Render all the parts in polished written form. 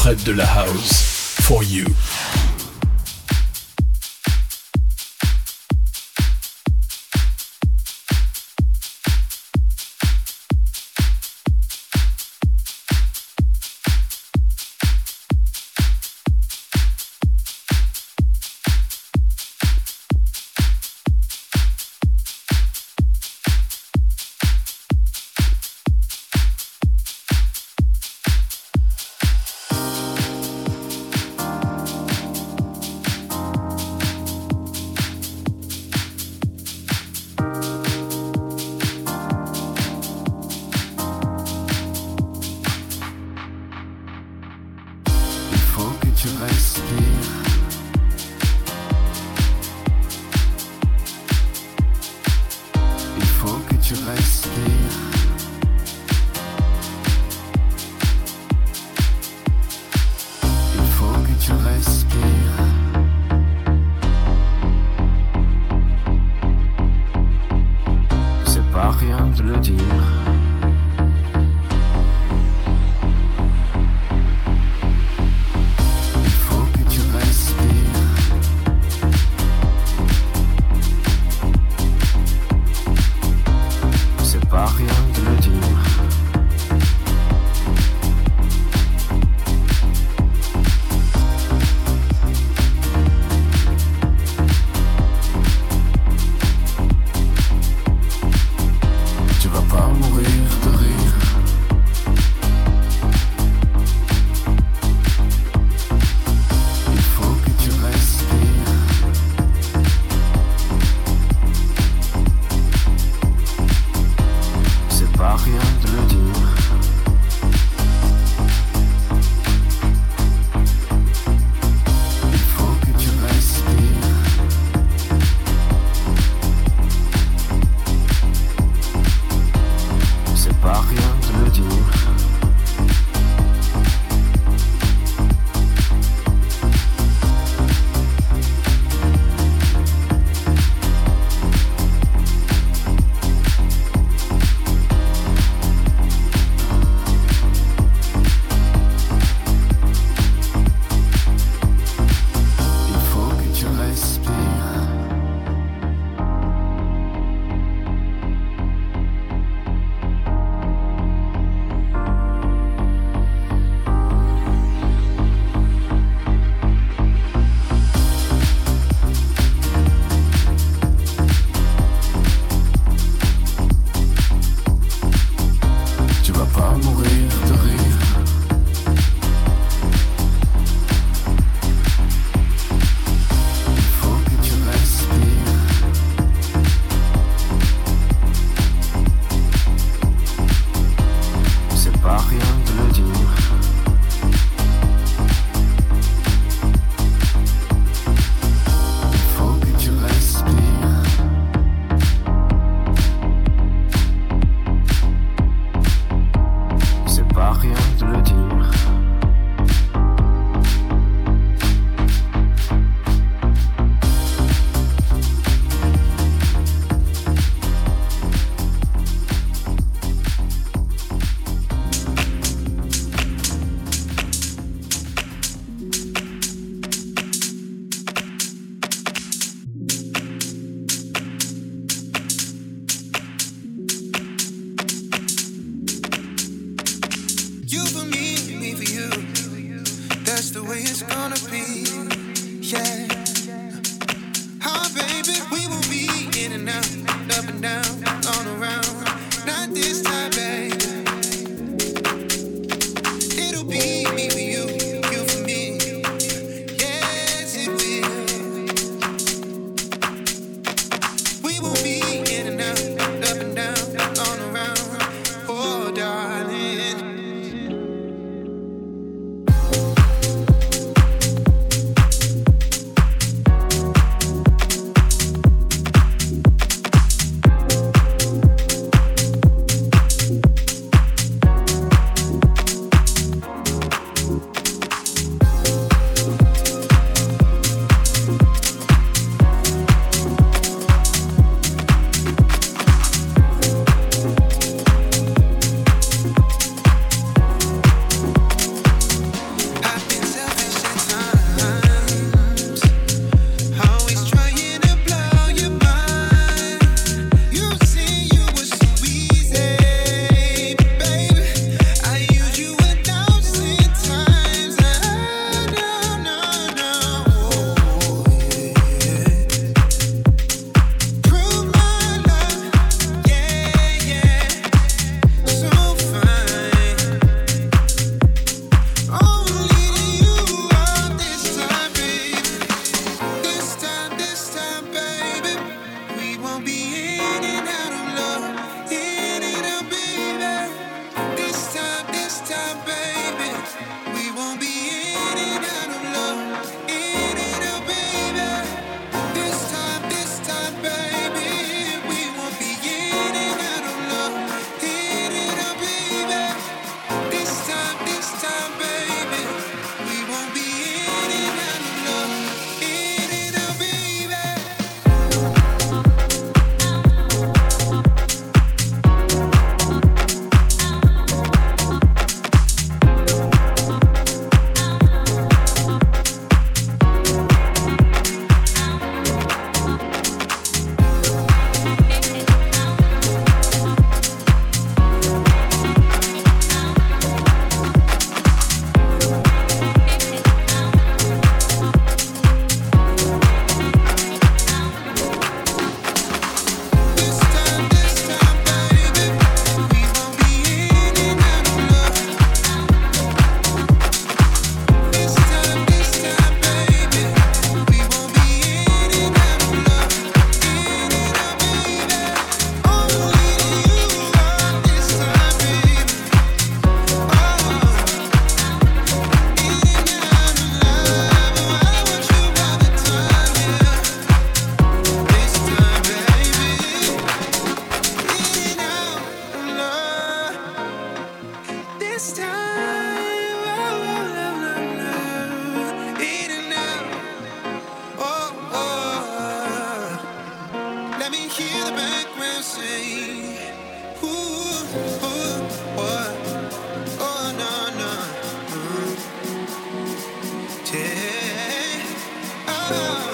l'interprète de la house. For you. this time. Oh, love, love, love. In and out. Oh, oh. Let me hear the background sing. Ooh, ooh, what? Oh, no, no. Yeah. Oh,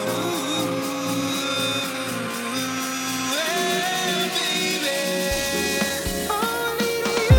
well, baby. Only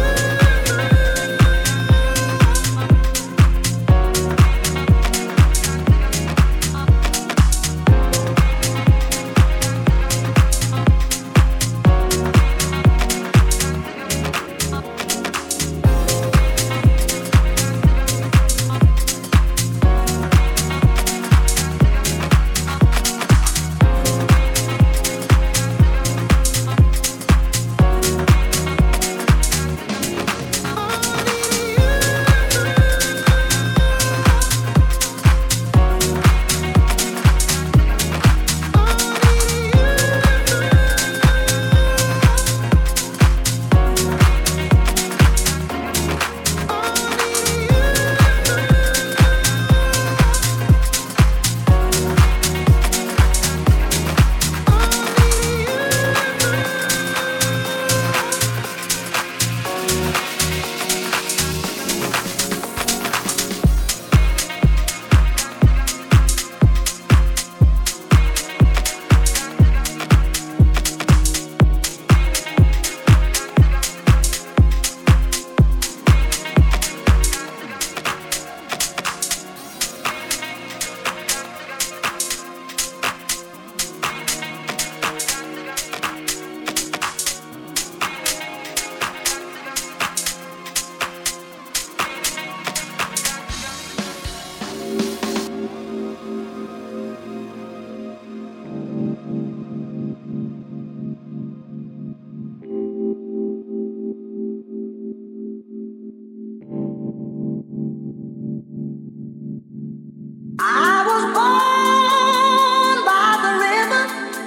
I was born by the river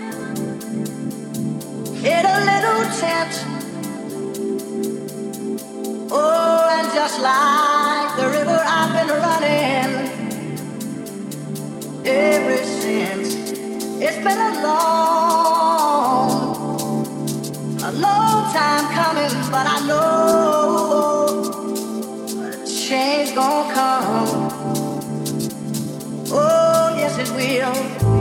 in a little tent. Oh, and just like the river, I've been running ever since. It's been a long time coming, but I know a change gonna come. Oh, yes it will.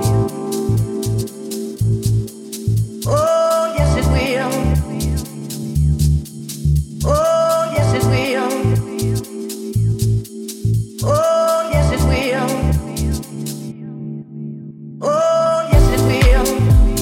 Oh, yes it will. Oh, yes it will. Oh, yes it will. Oh, yes it will.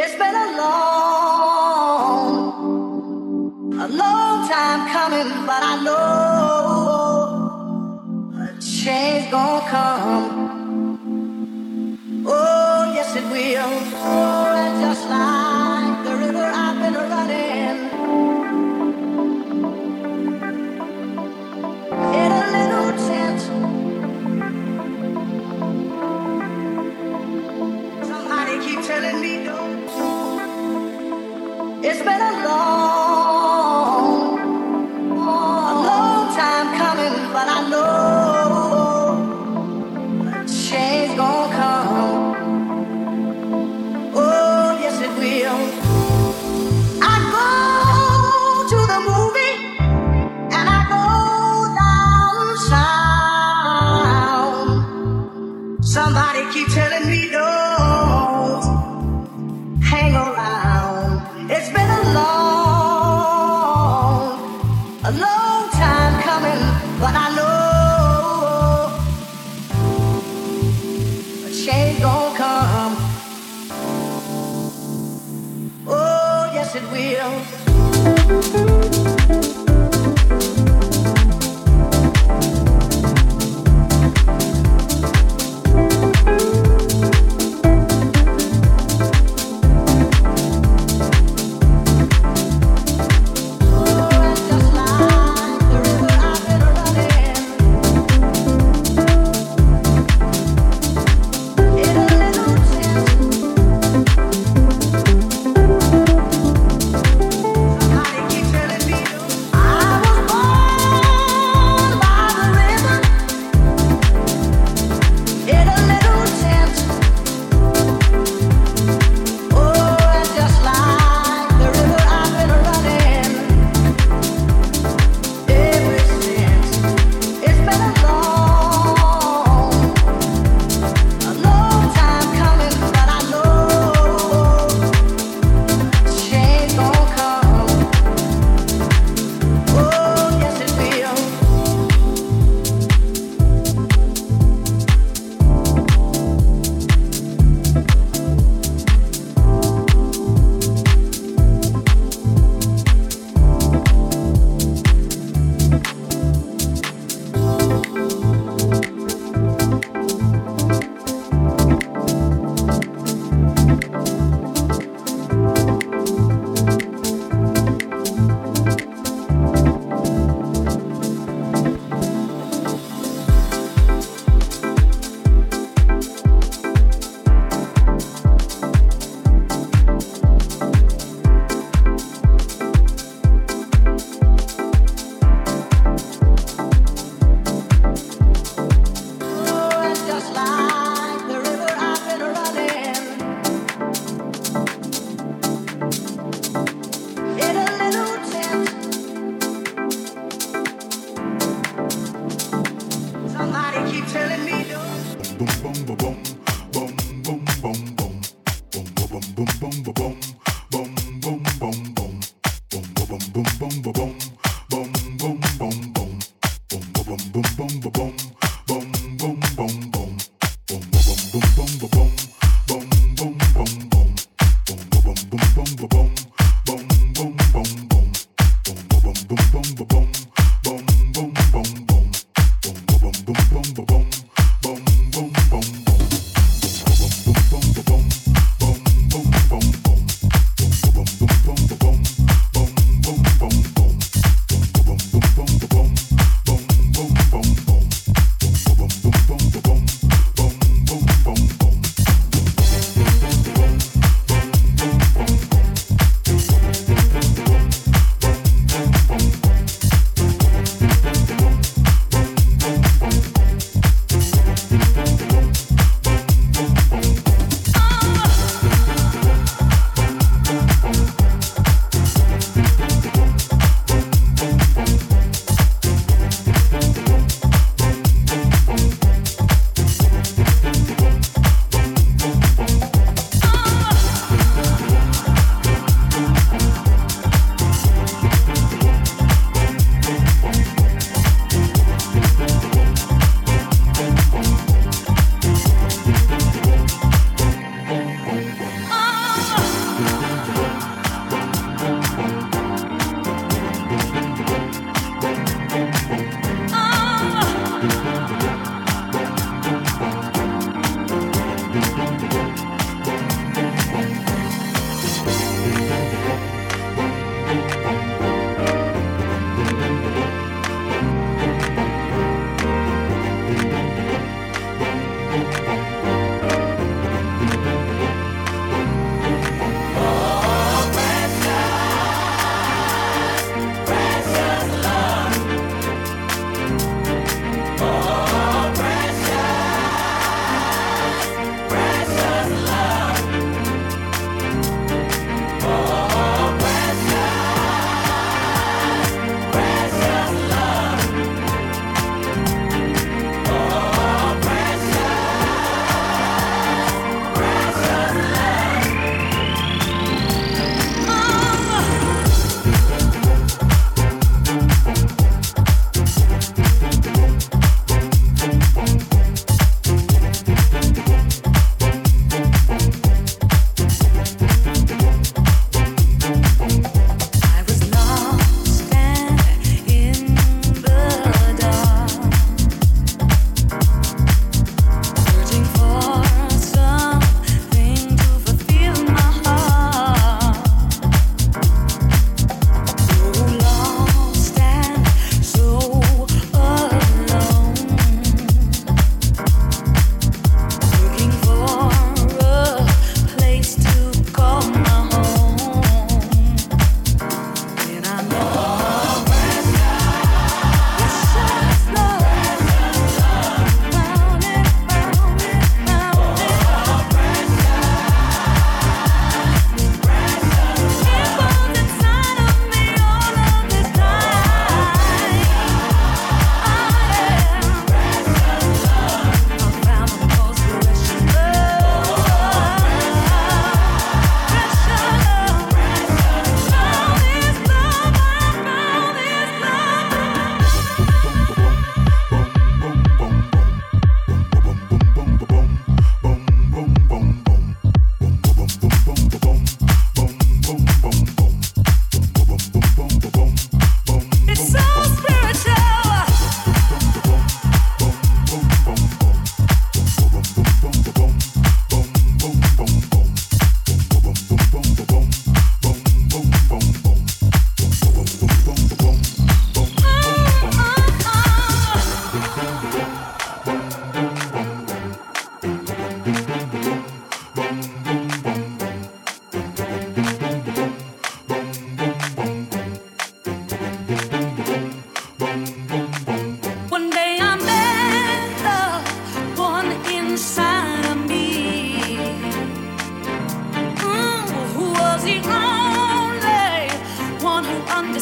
It's been a long time coming, but I know a change gonna come. Oh, yes it will. Oh, and just like the river I've been running in a little tent. Somebody keep telling me don't. It's been a long time coming, but I know a change gonna come. Oh, yes it will. I go to the movie and I go downtown. Somebody keep telling me don't hang around. It's been a long time coming, but I know a change gon' come. Oh, yes it will.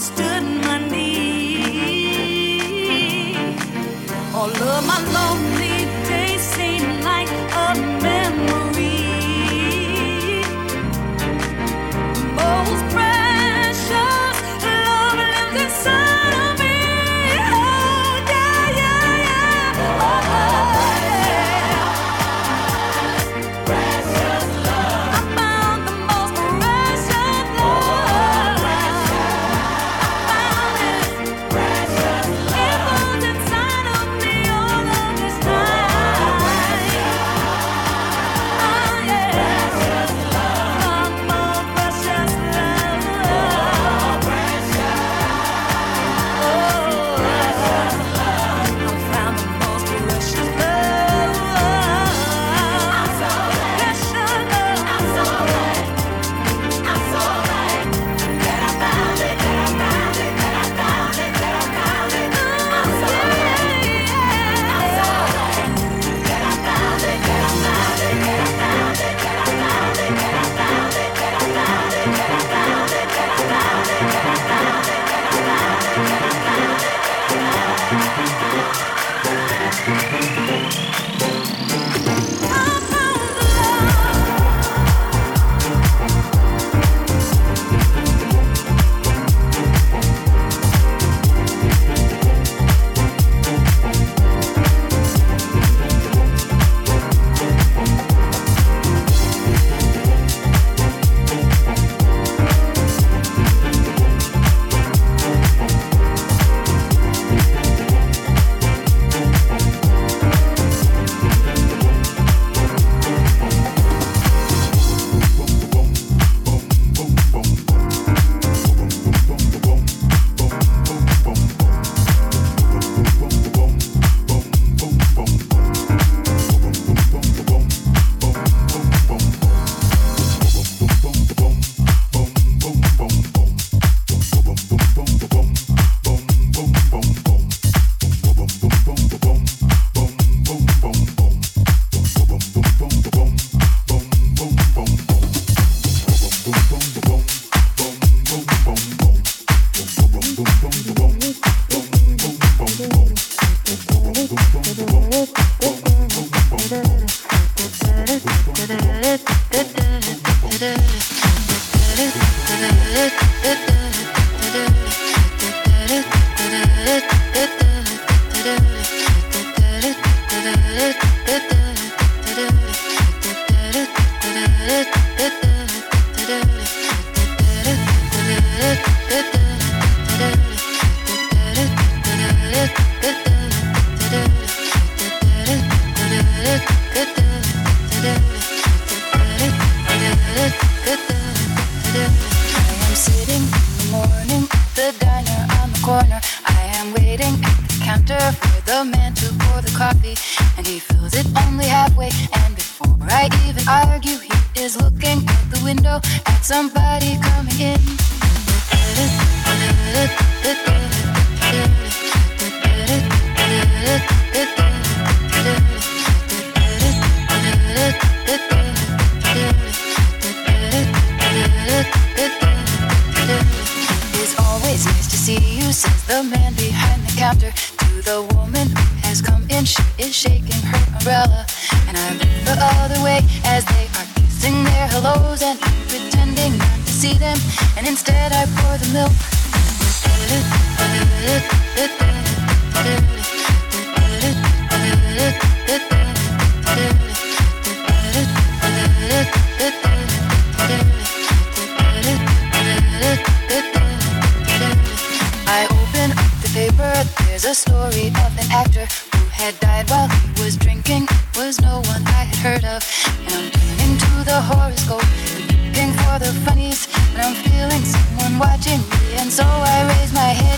stood my need. All of my lonely days seem like a memory. Most precious love lives inside of me. Oh, yeah, yeah, yeah. Oh, yeah. Precious love. I found the most precious love. I found it. Precious love. It was inside of me all of this time. Oh, yeah. Precious love. More precious love. I found the most precious love. I'm so precious love. I'm so right. I'm so right. That I found it. That I found it. That I found it. That I found it. I'm so right. I'm so right. That I found it. That I found it. That I found it. That I found it. That I found it. That I found it. That I found it. That I found it. That I found it. That I found it. That I found it. I am sitting in the morning at the diner on the corner. I am waiting at the counter for the man to pour the coffee, and he fills it only halfway. And before I even argue, he is looking out the window at somebody coming in. It's always nice to see you, says the man behind the counter to the woman who has come in. She is shaking her umbrella, and I look the other way as they are kissing their hellos and pretending not to see them, and instead I pour the milk. I open up the paper, there's a story of an actor who had died while he was drinking. Was no one I had heard of, and I'm turning to the horoscope and looking for the funnies, but I'm feeling someone watching me, and so I raise my head.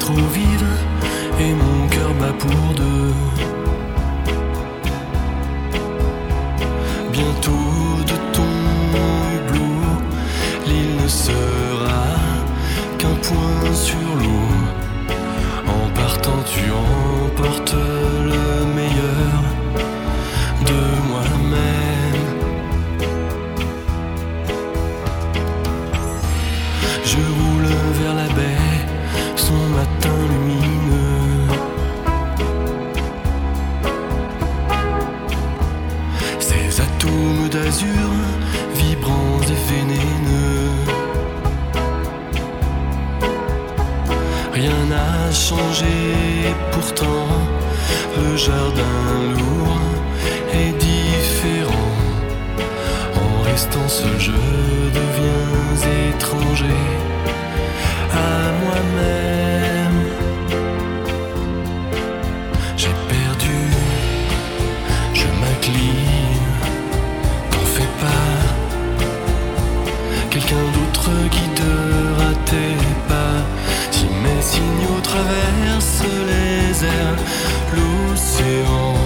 trop vive et mon cœur bat pour deux. Bientôt de ton hublot, l'île ne sera qu'un point sur l'eau. En partant tu emportes le meilleur de moi-même. Je roule vers la baie, son matin lumineux. Ces atomes d'azur, vibrants et vénéneux. Rien n'a changé, pourtant le jardin lourd est différent. En restant seul, je deviens étranger à moi-même. J'ai perdu, je m'incline, t'en fais pas. Quelqu'un d'autre guidera tes pas. Si mes signaux traversent les airs, l'océan,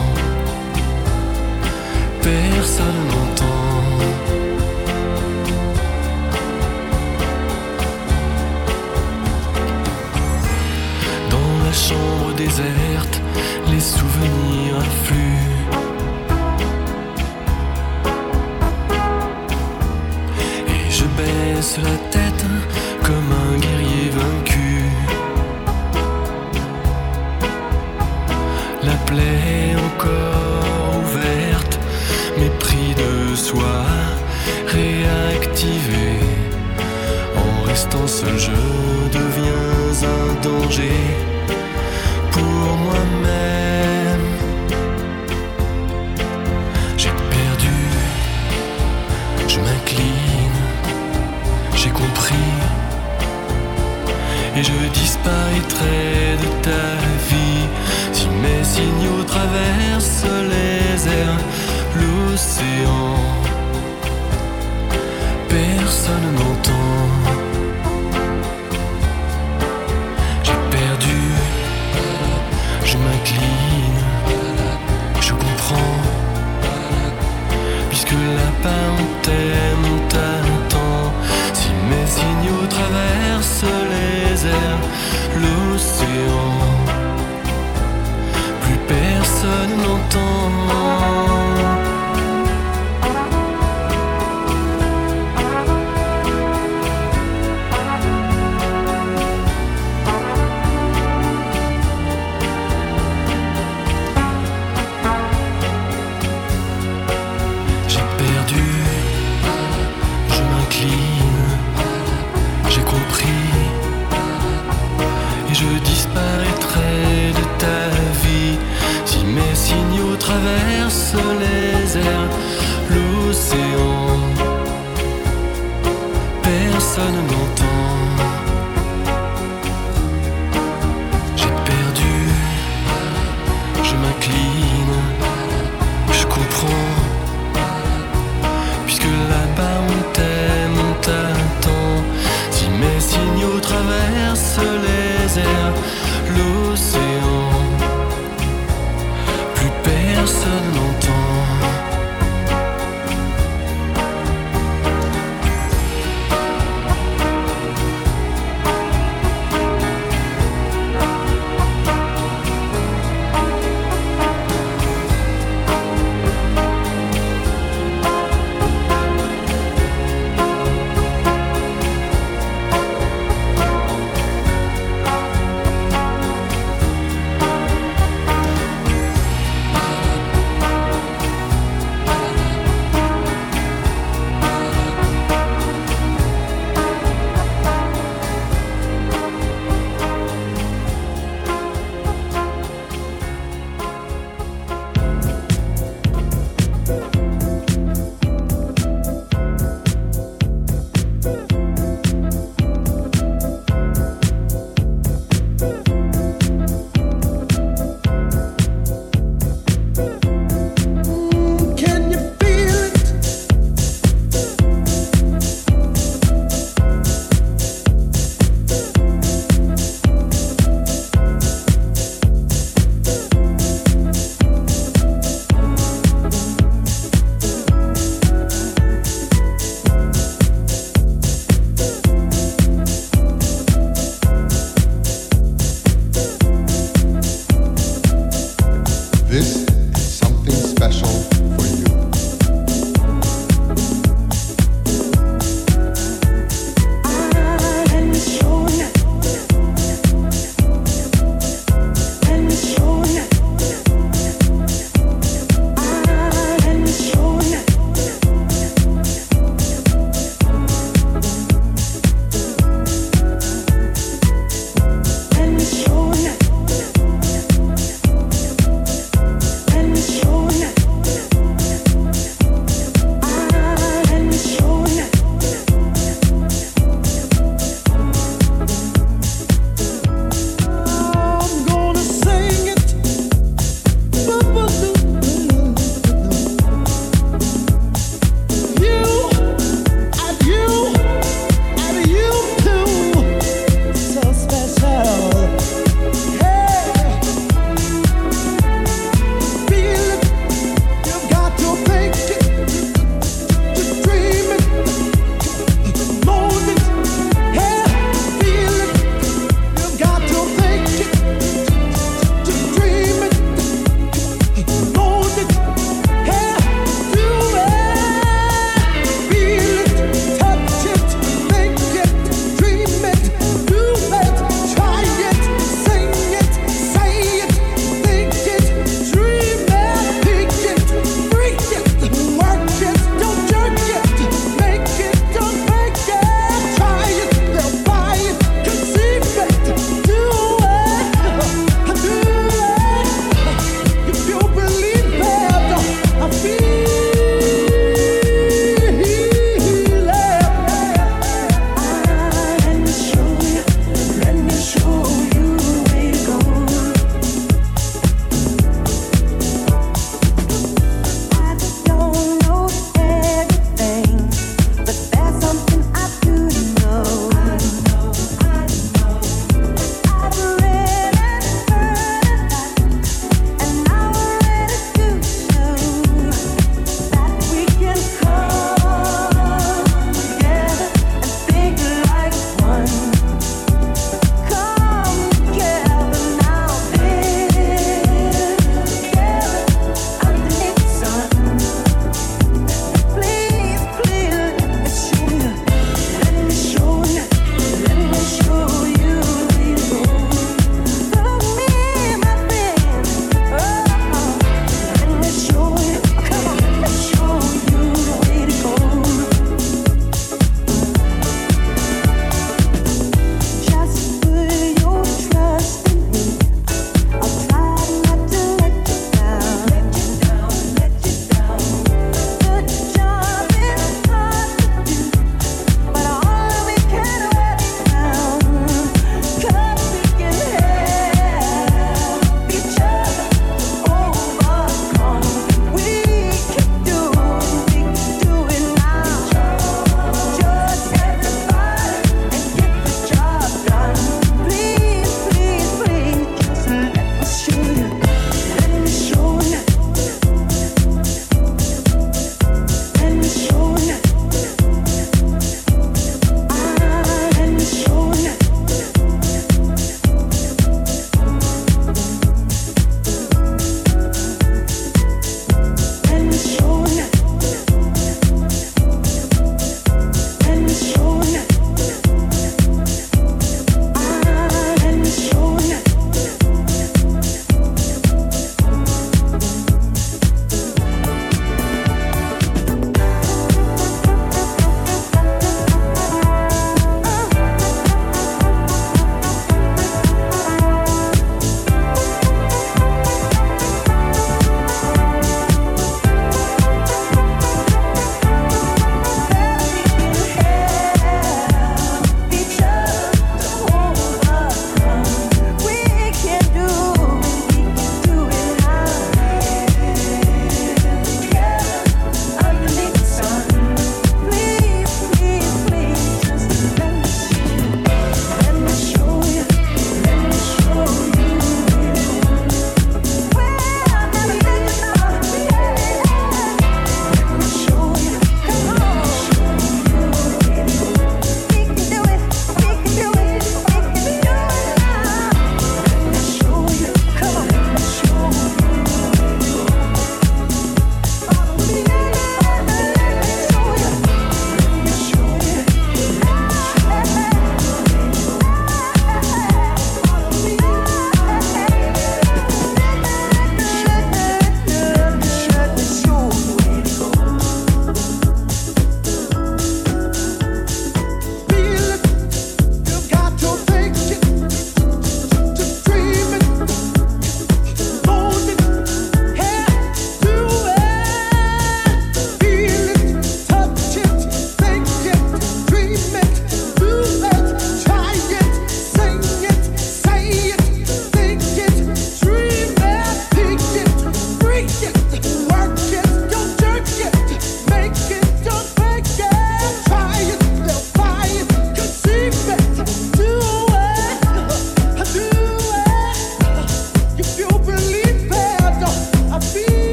personne n'entend. Dans la chambre déserte, les souvenirs affluent. Et je baisse la tête comme un guerrier vaincu. La plaie encore ouverte, mépris de soi réactivé. En restant seul, je deviens un danger pour moi-même. J'ai perdu, je m'incline, j'ai compris. Et je disparaîtrai de ta vie si mes signaux traversent les airs, l'océan, personne n'entend. J'ai perdu, je m'incline, je comprends, puisque là-bas on t'aime, on t'attend. Si mes signaux traversent les airs, l'océan, plus personne n'entend. J'ai perdu, je m'incline, j'ai compris. Et je disparaîtrai de ta vie si mes signaux traversent les airs, l'océan, personne n'entend. J'ai perdu, je m'incline, je comprends, puisque là-bas on t'aime, on t'attend. Si mes signaux traversent les airs, l'océan, plus personne n'entend.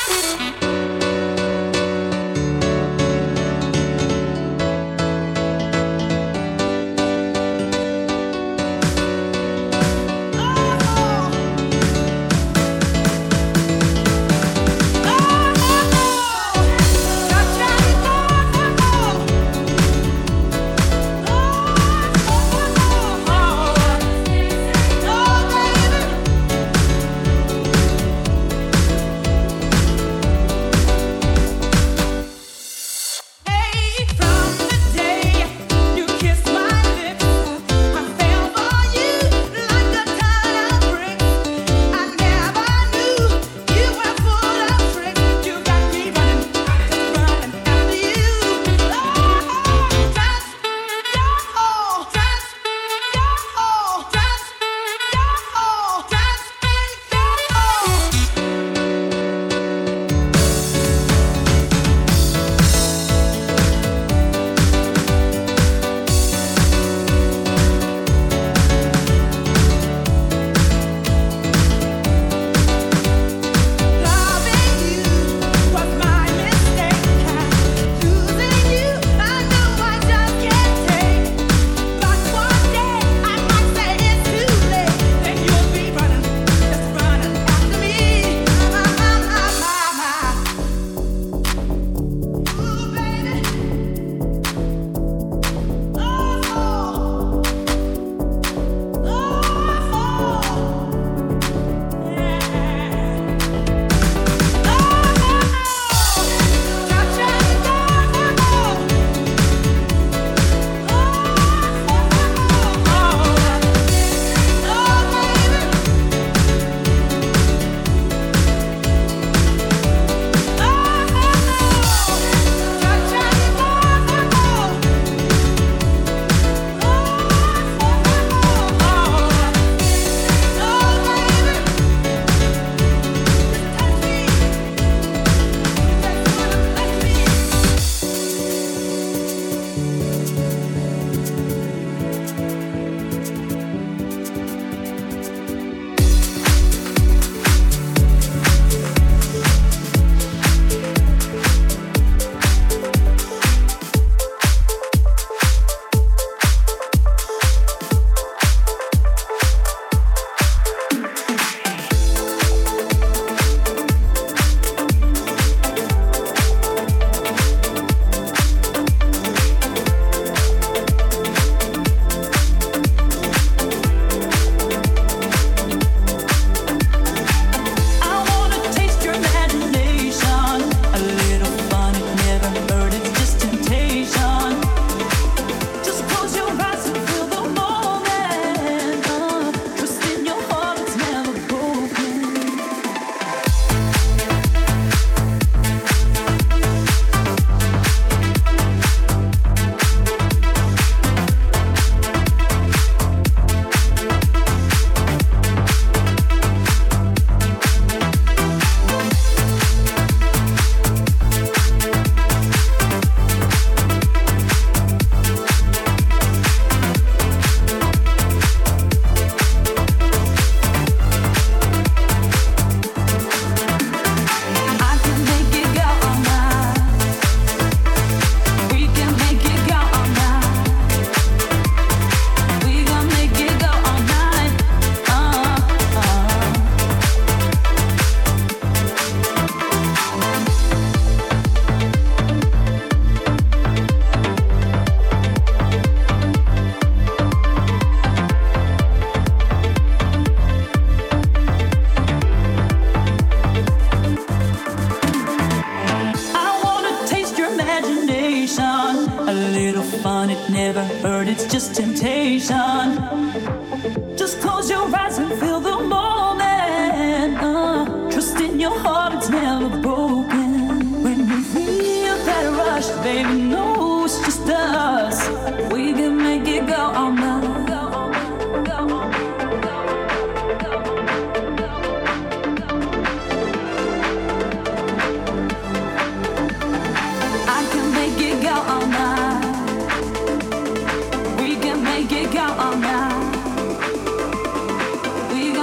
We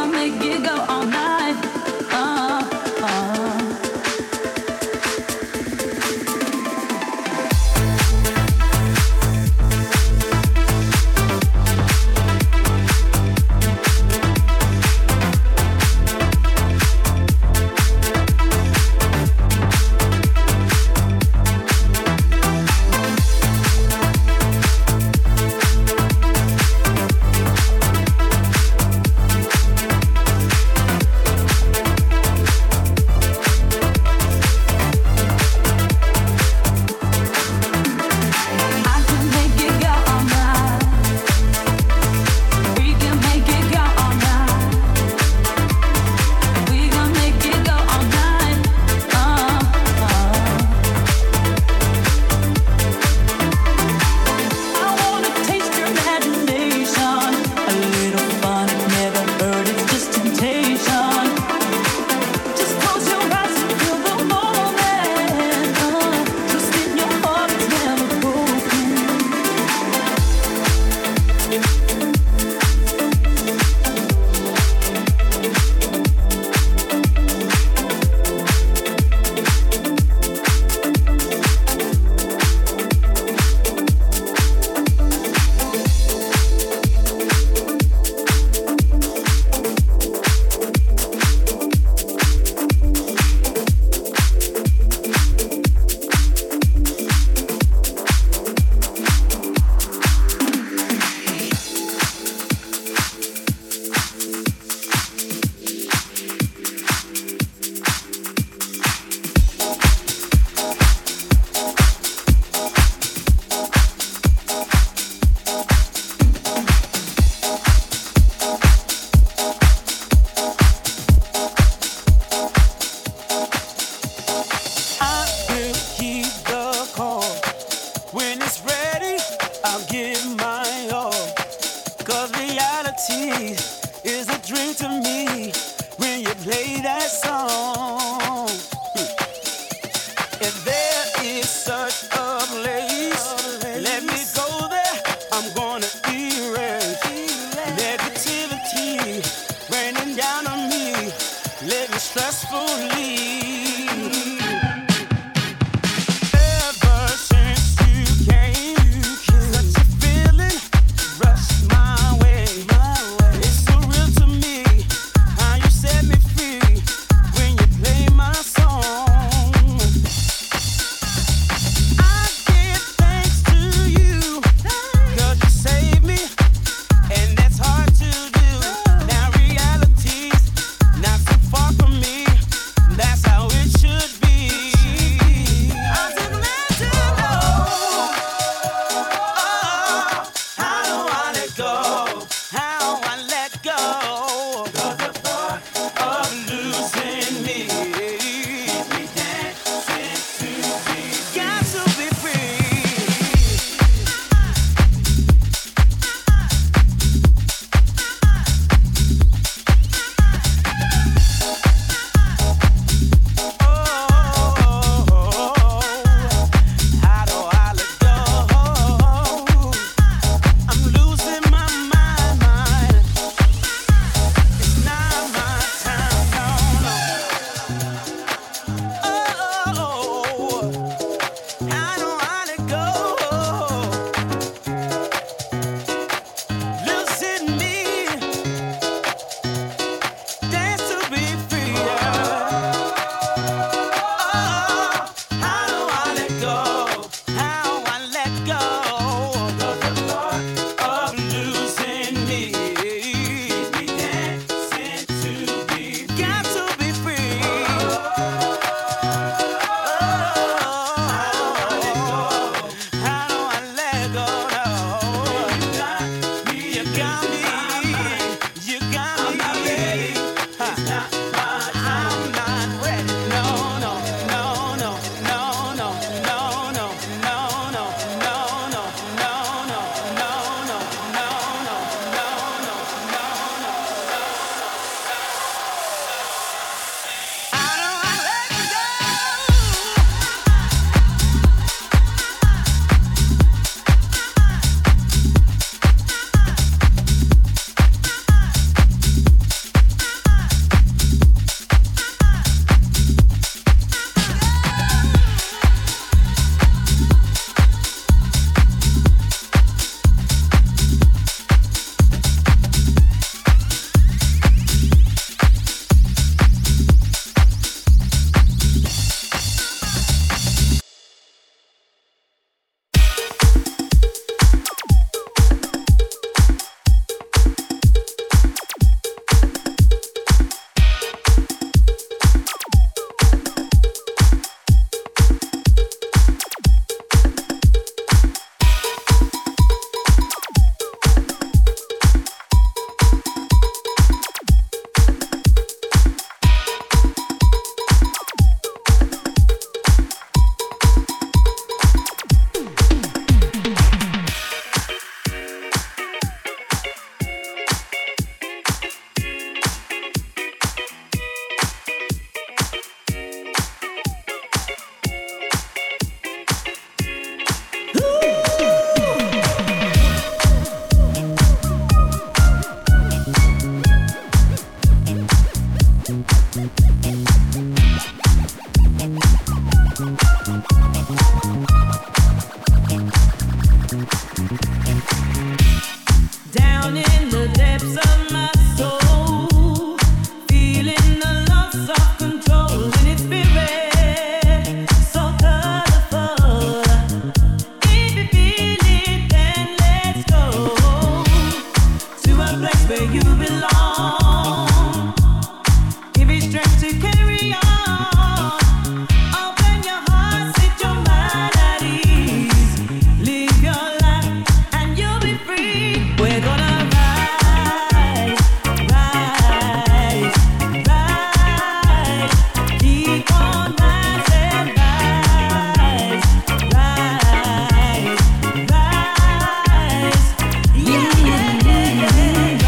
Down in the depths of my soul, feeling the loss of control in its spirit, so colorful. If you feel it, then let's go to a place where you belong. Give it strength to carry on. Open your heart, set your mind at ease. Live your life and you'll be free. We're gonna rise, rise, rise. Keep on rising, rise, rise, rise. Yeah, yeah, yeah, yeah.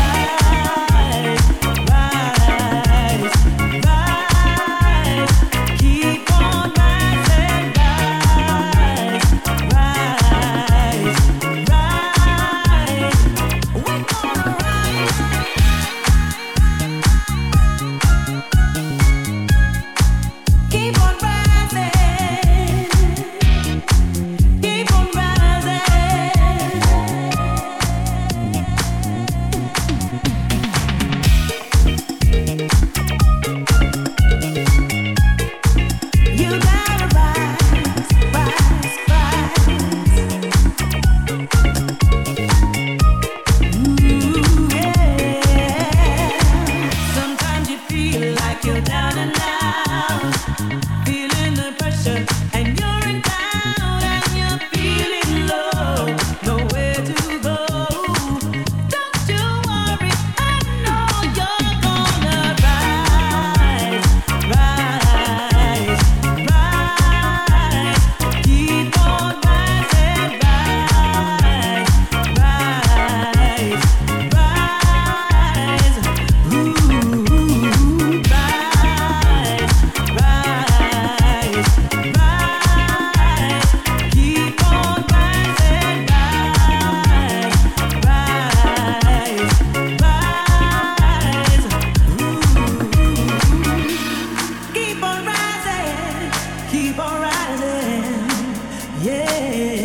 Rise, rise, rise. Keep on rising, rise, rise, rise. We're gonna rise. Keep on rising. Keep on rising. You gotta rise, rise, rise. Ooh, yeah. Sometimes you feel like you're down and out, feeling the pressure, and you're in doubt, and you're feeling low, nowhere to go. Don't you worry, I know you're gonna rise, rise, rise. Keep on rising, rise, rise, rise. Ooh, rise, rise, rise. Keep on rising, rise, rise, rise. Ooh. Keep on rising, yeah.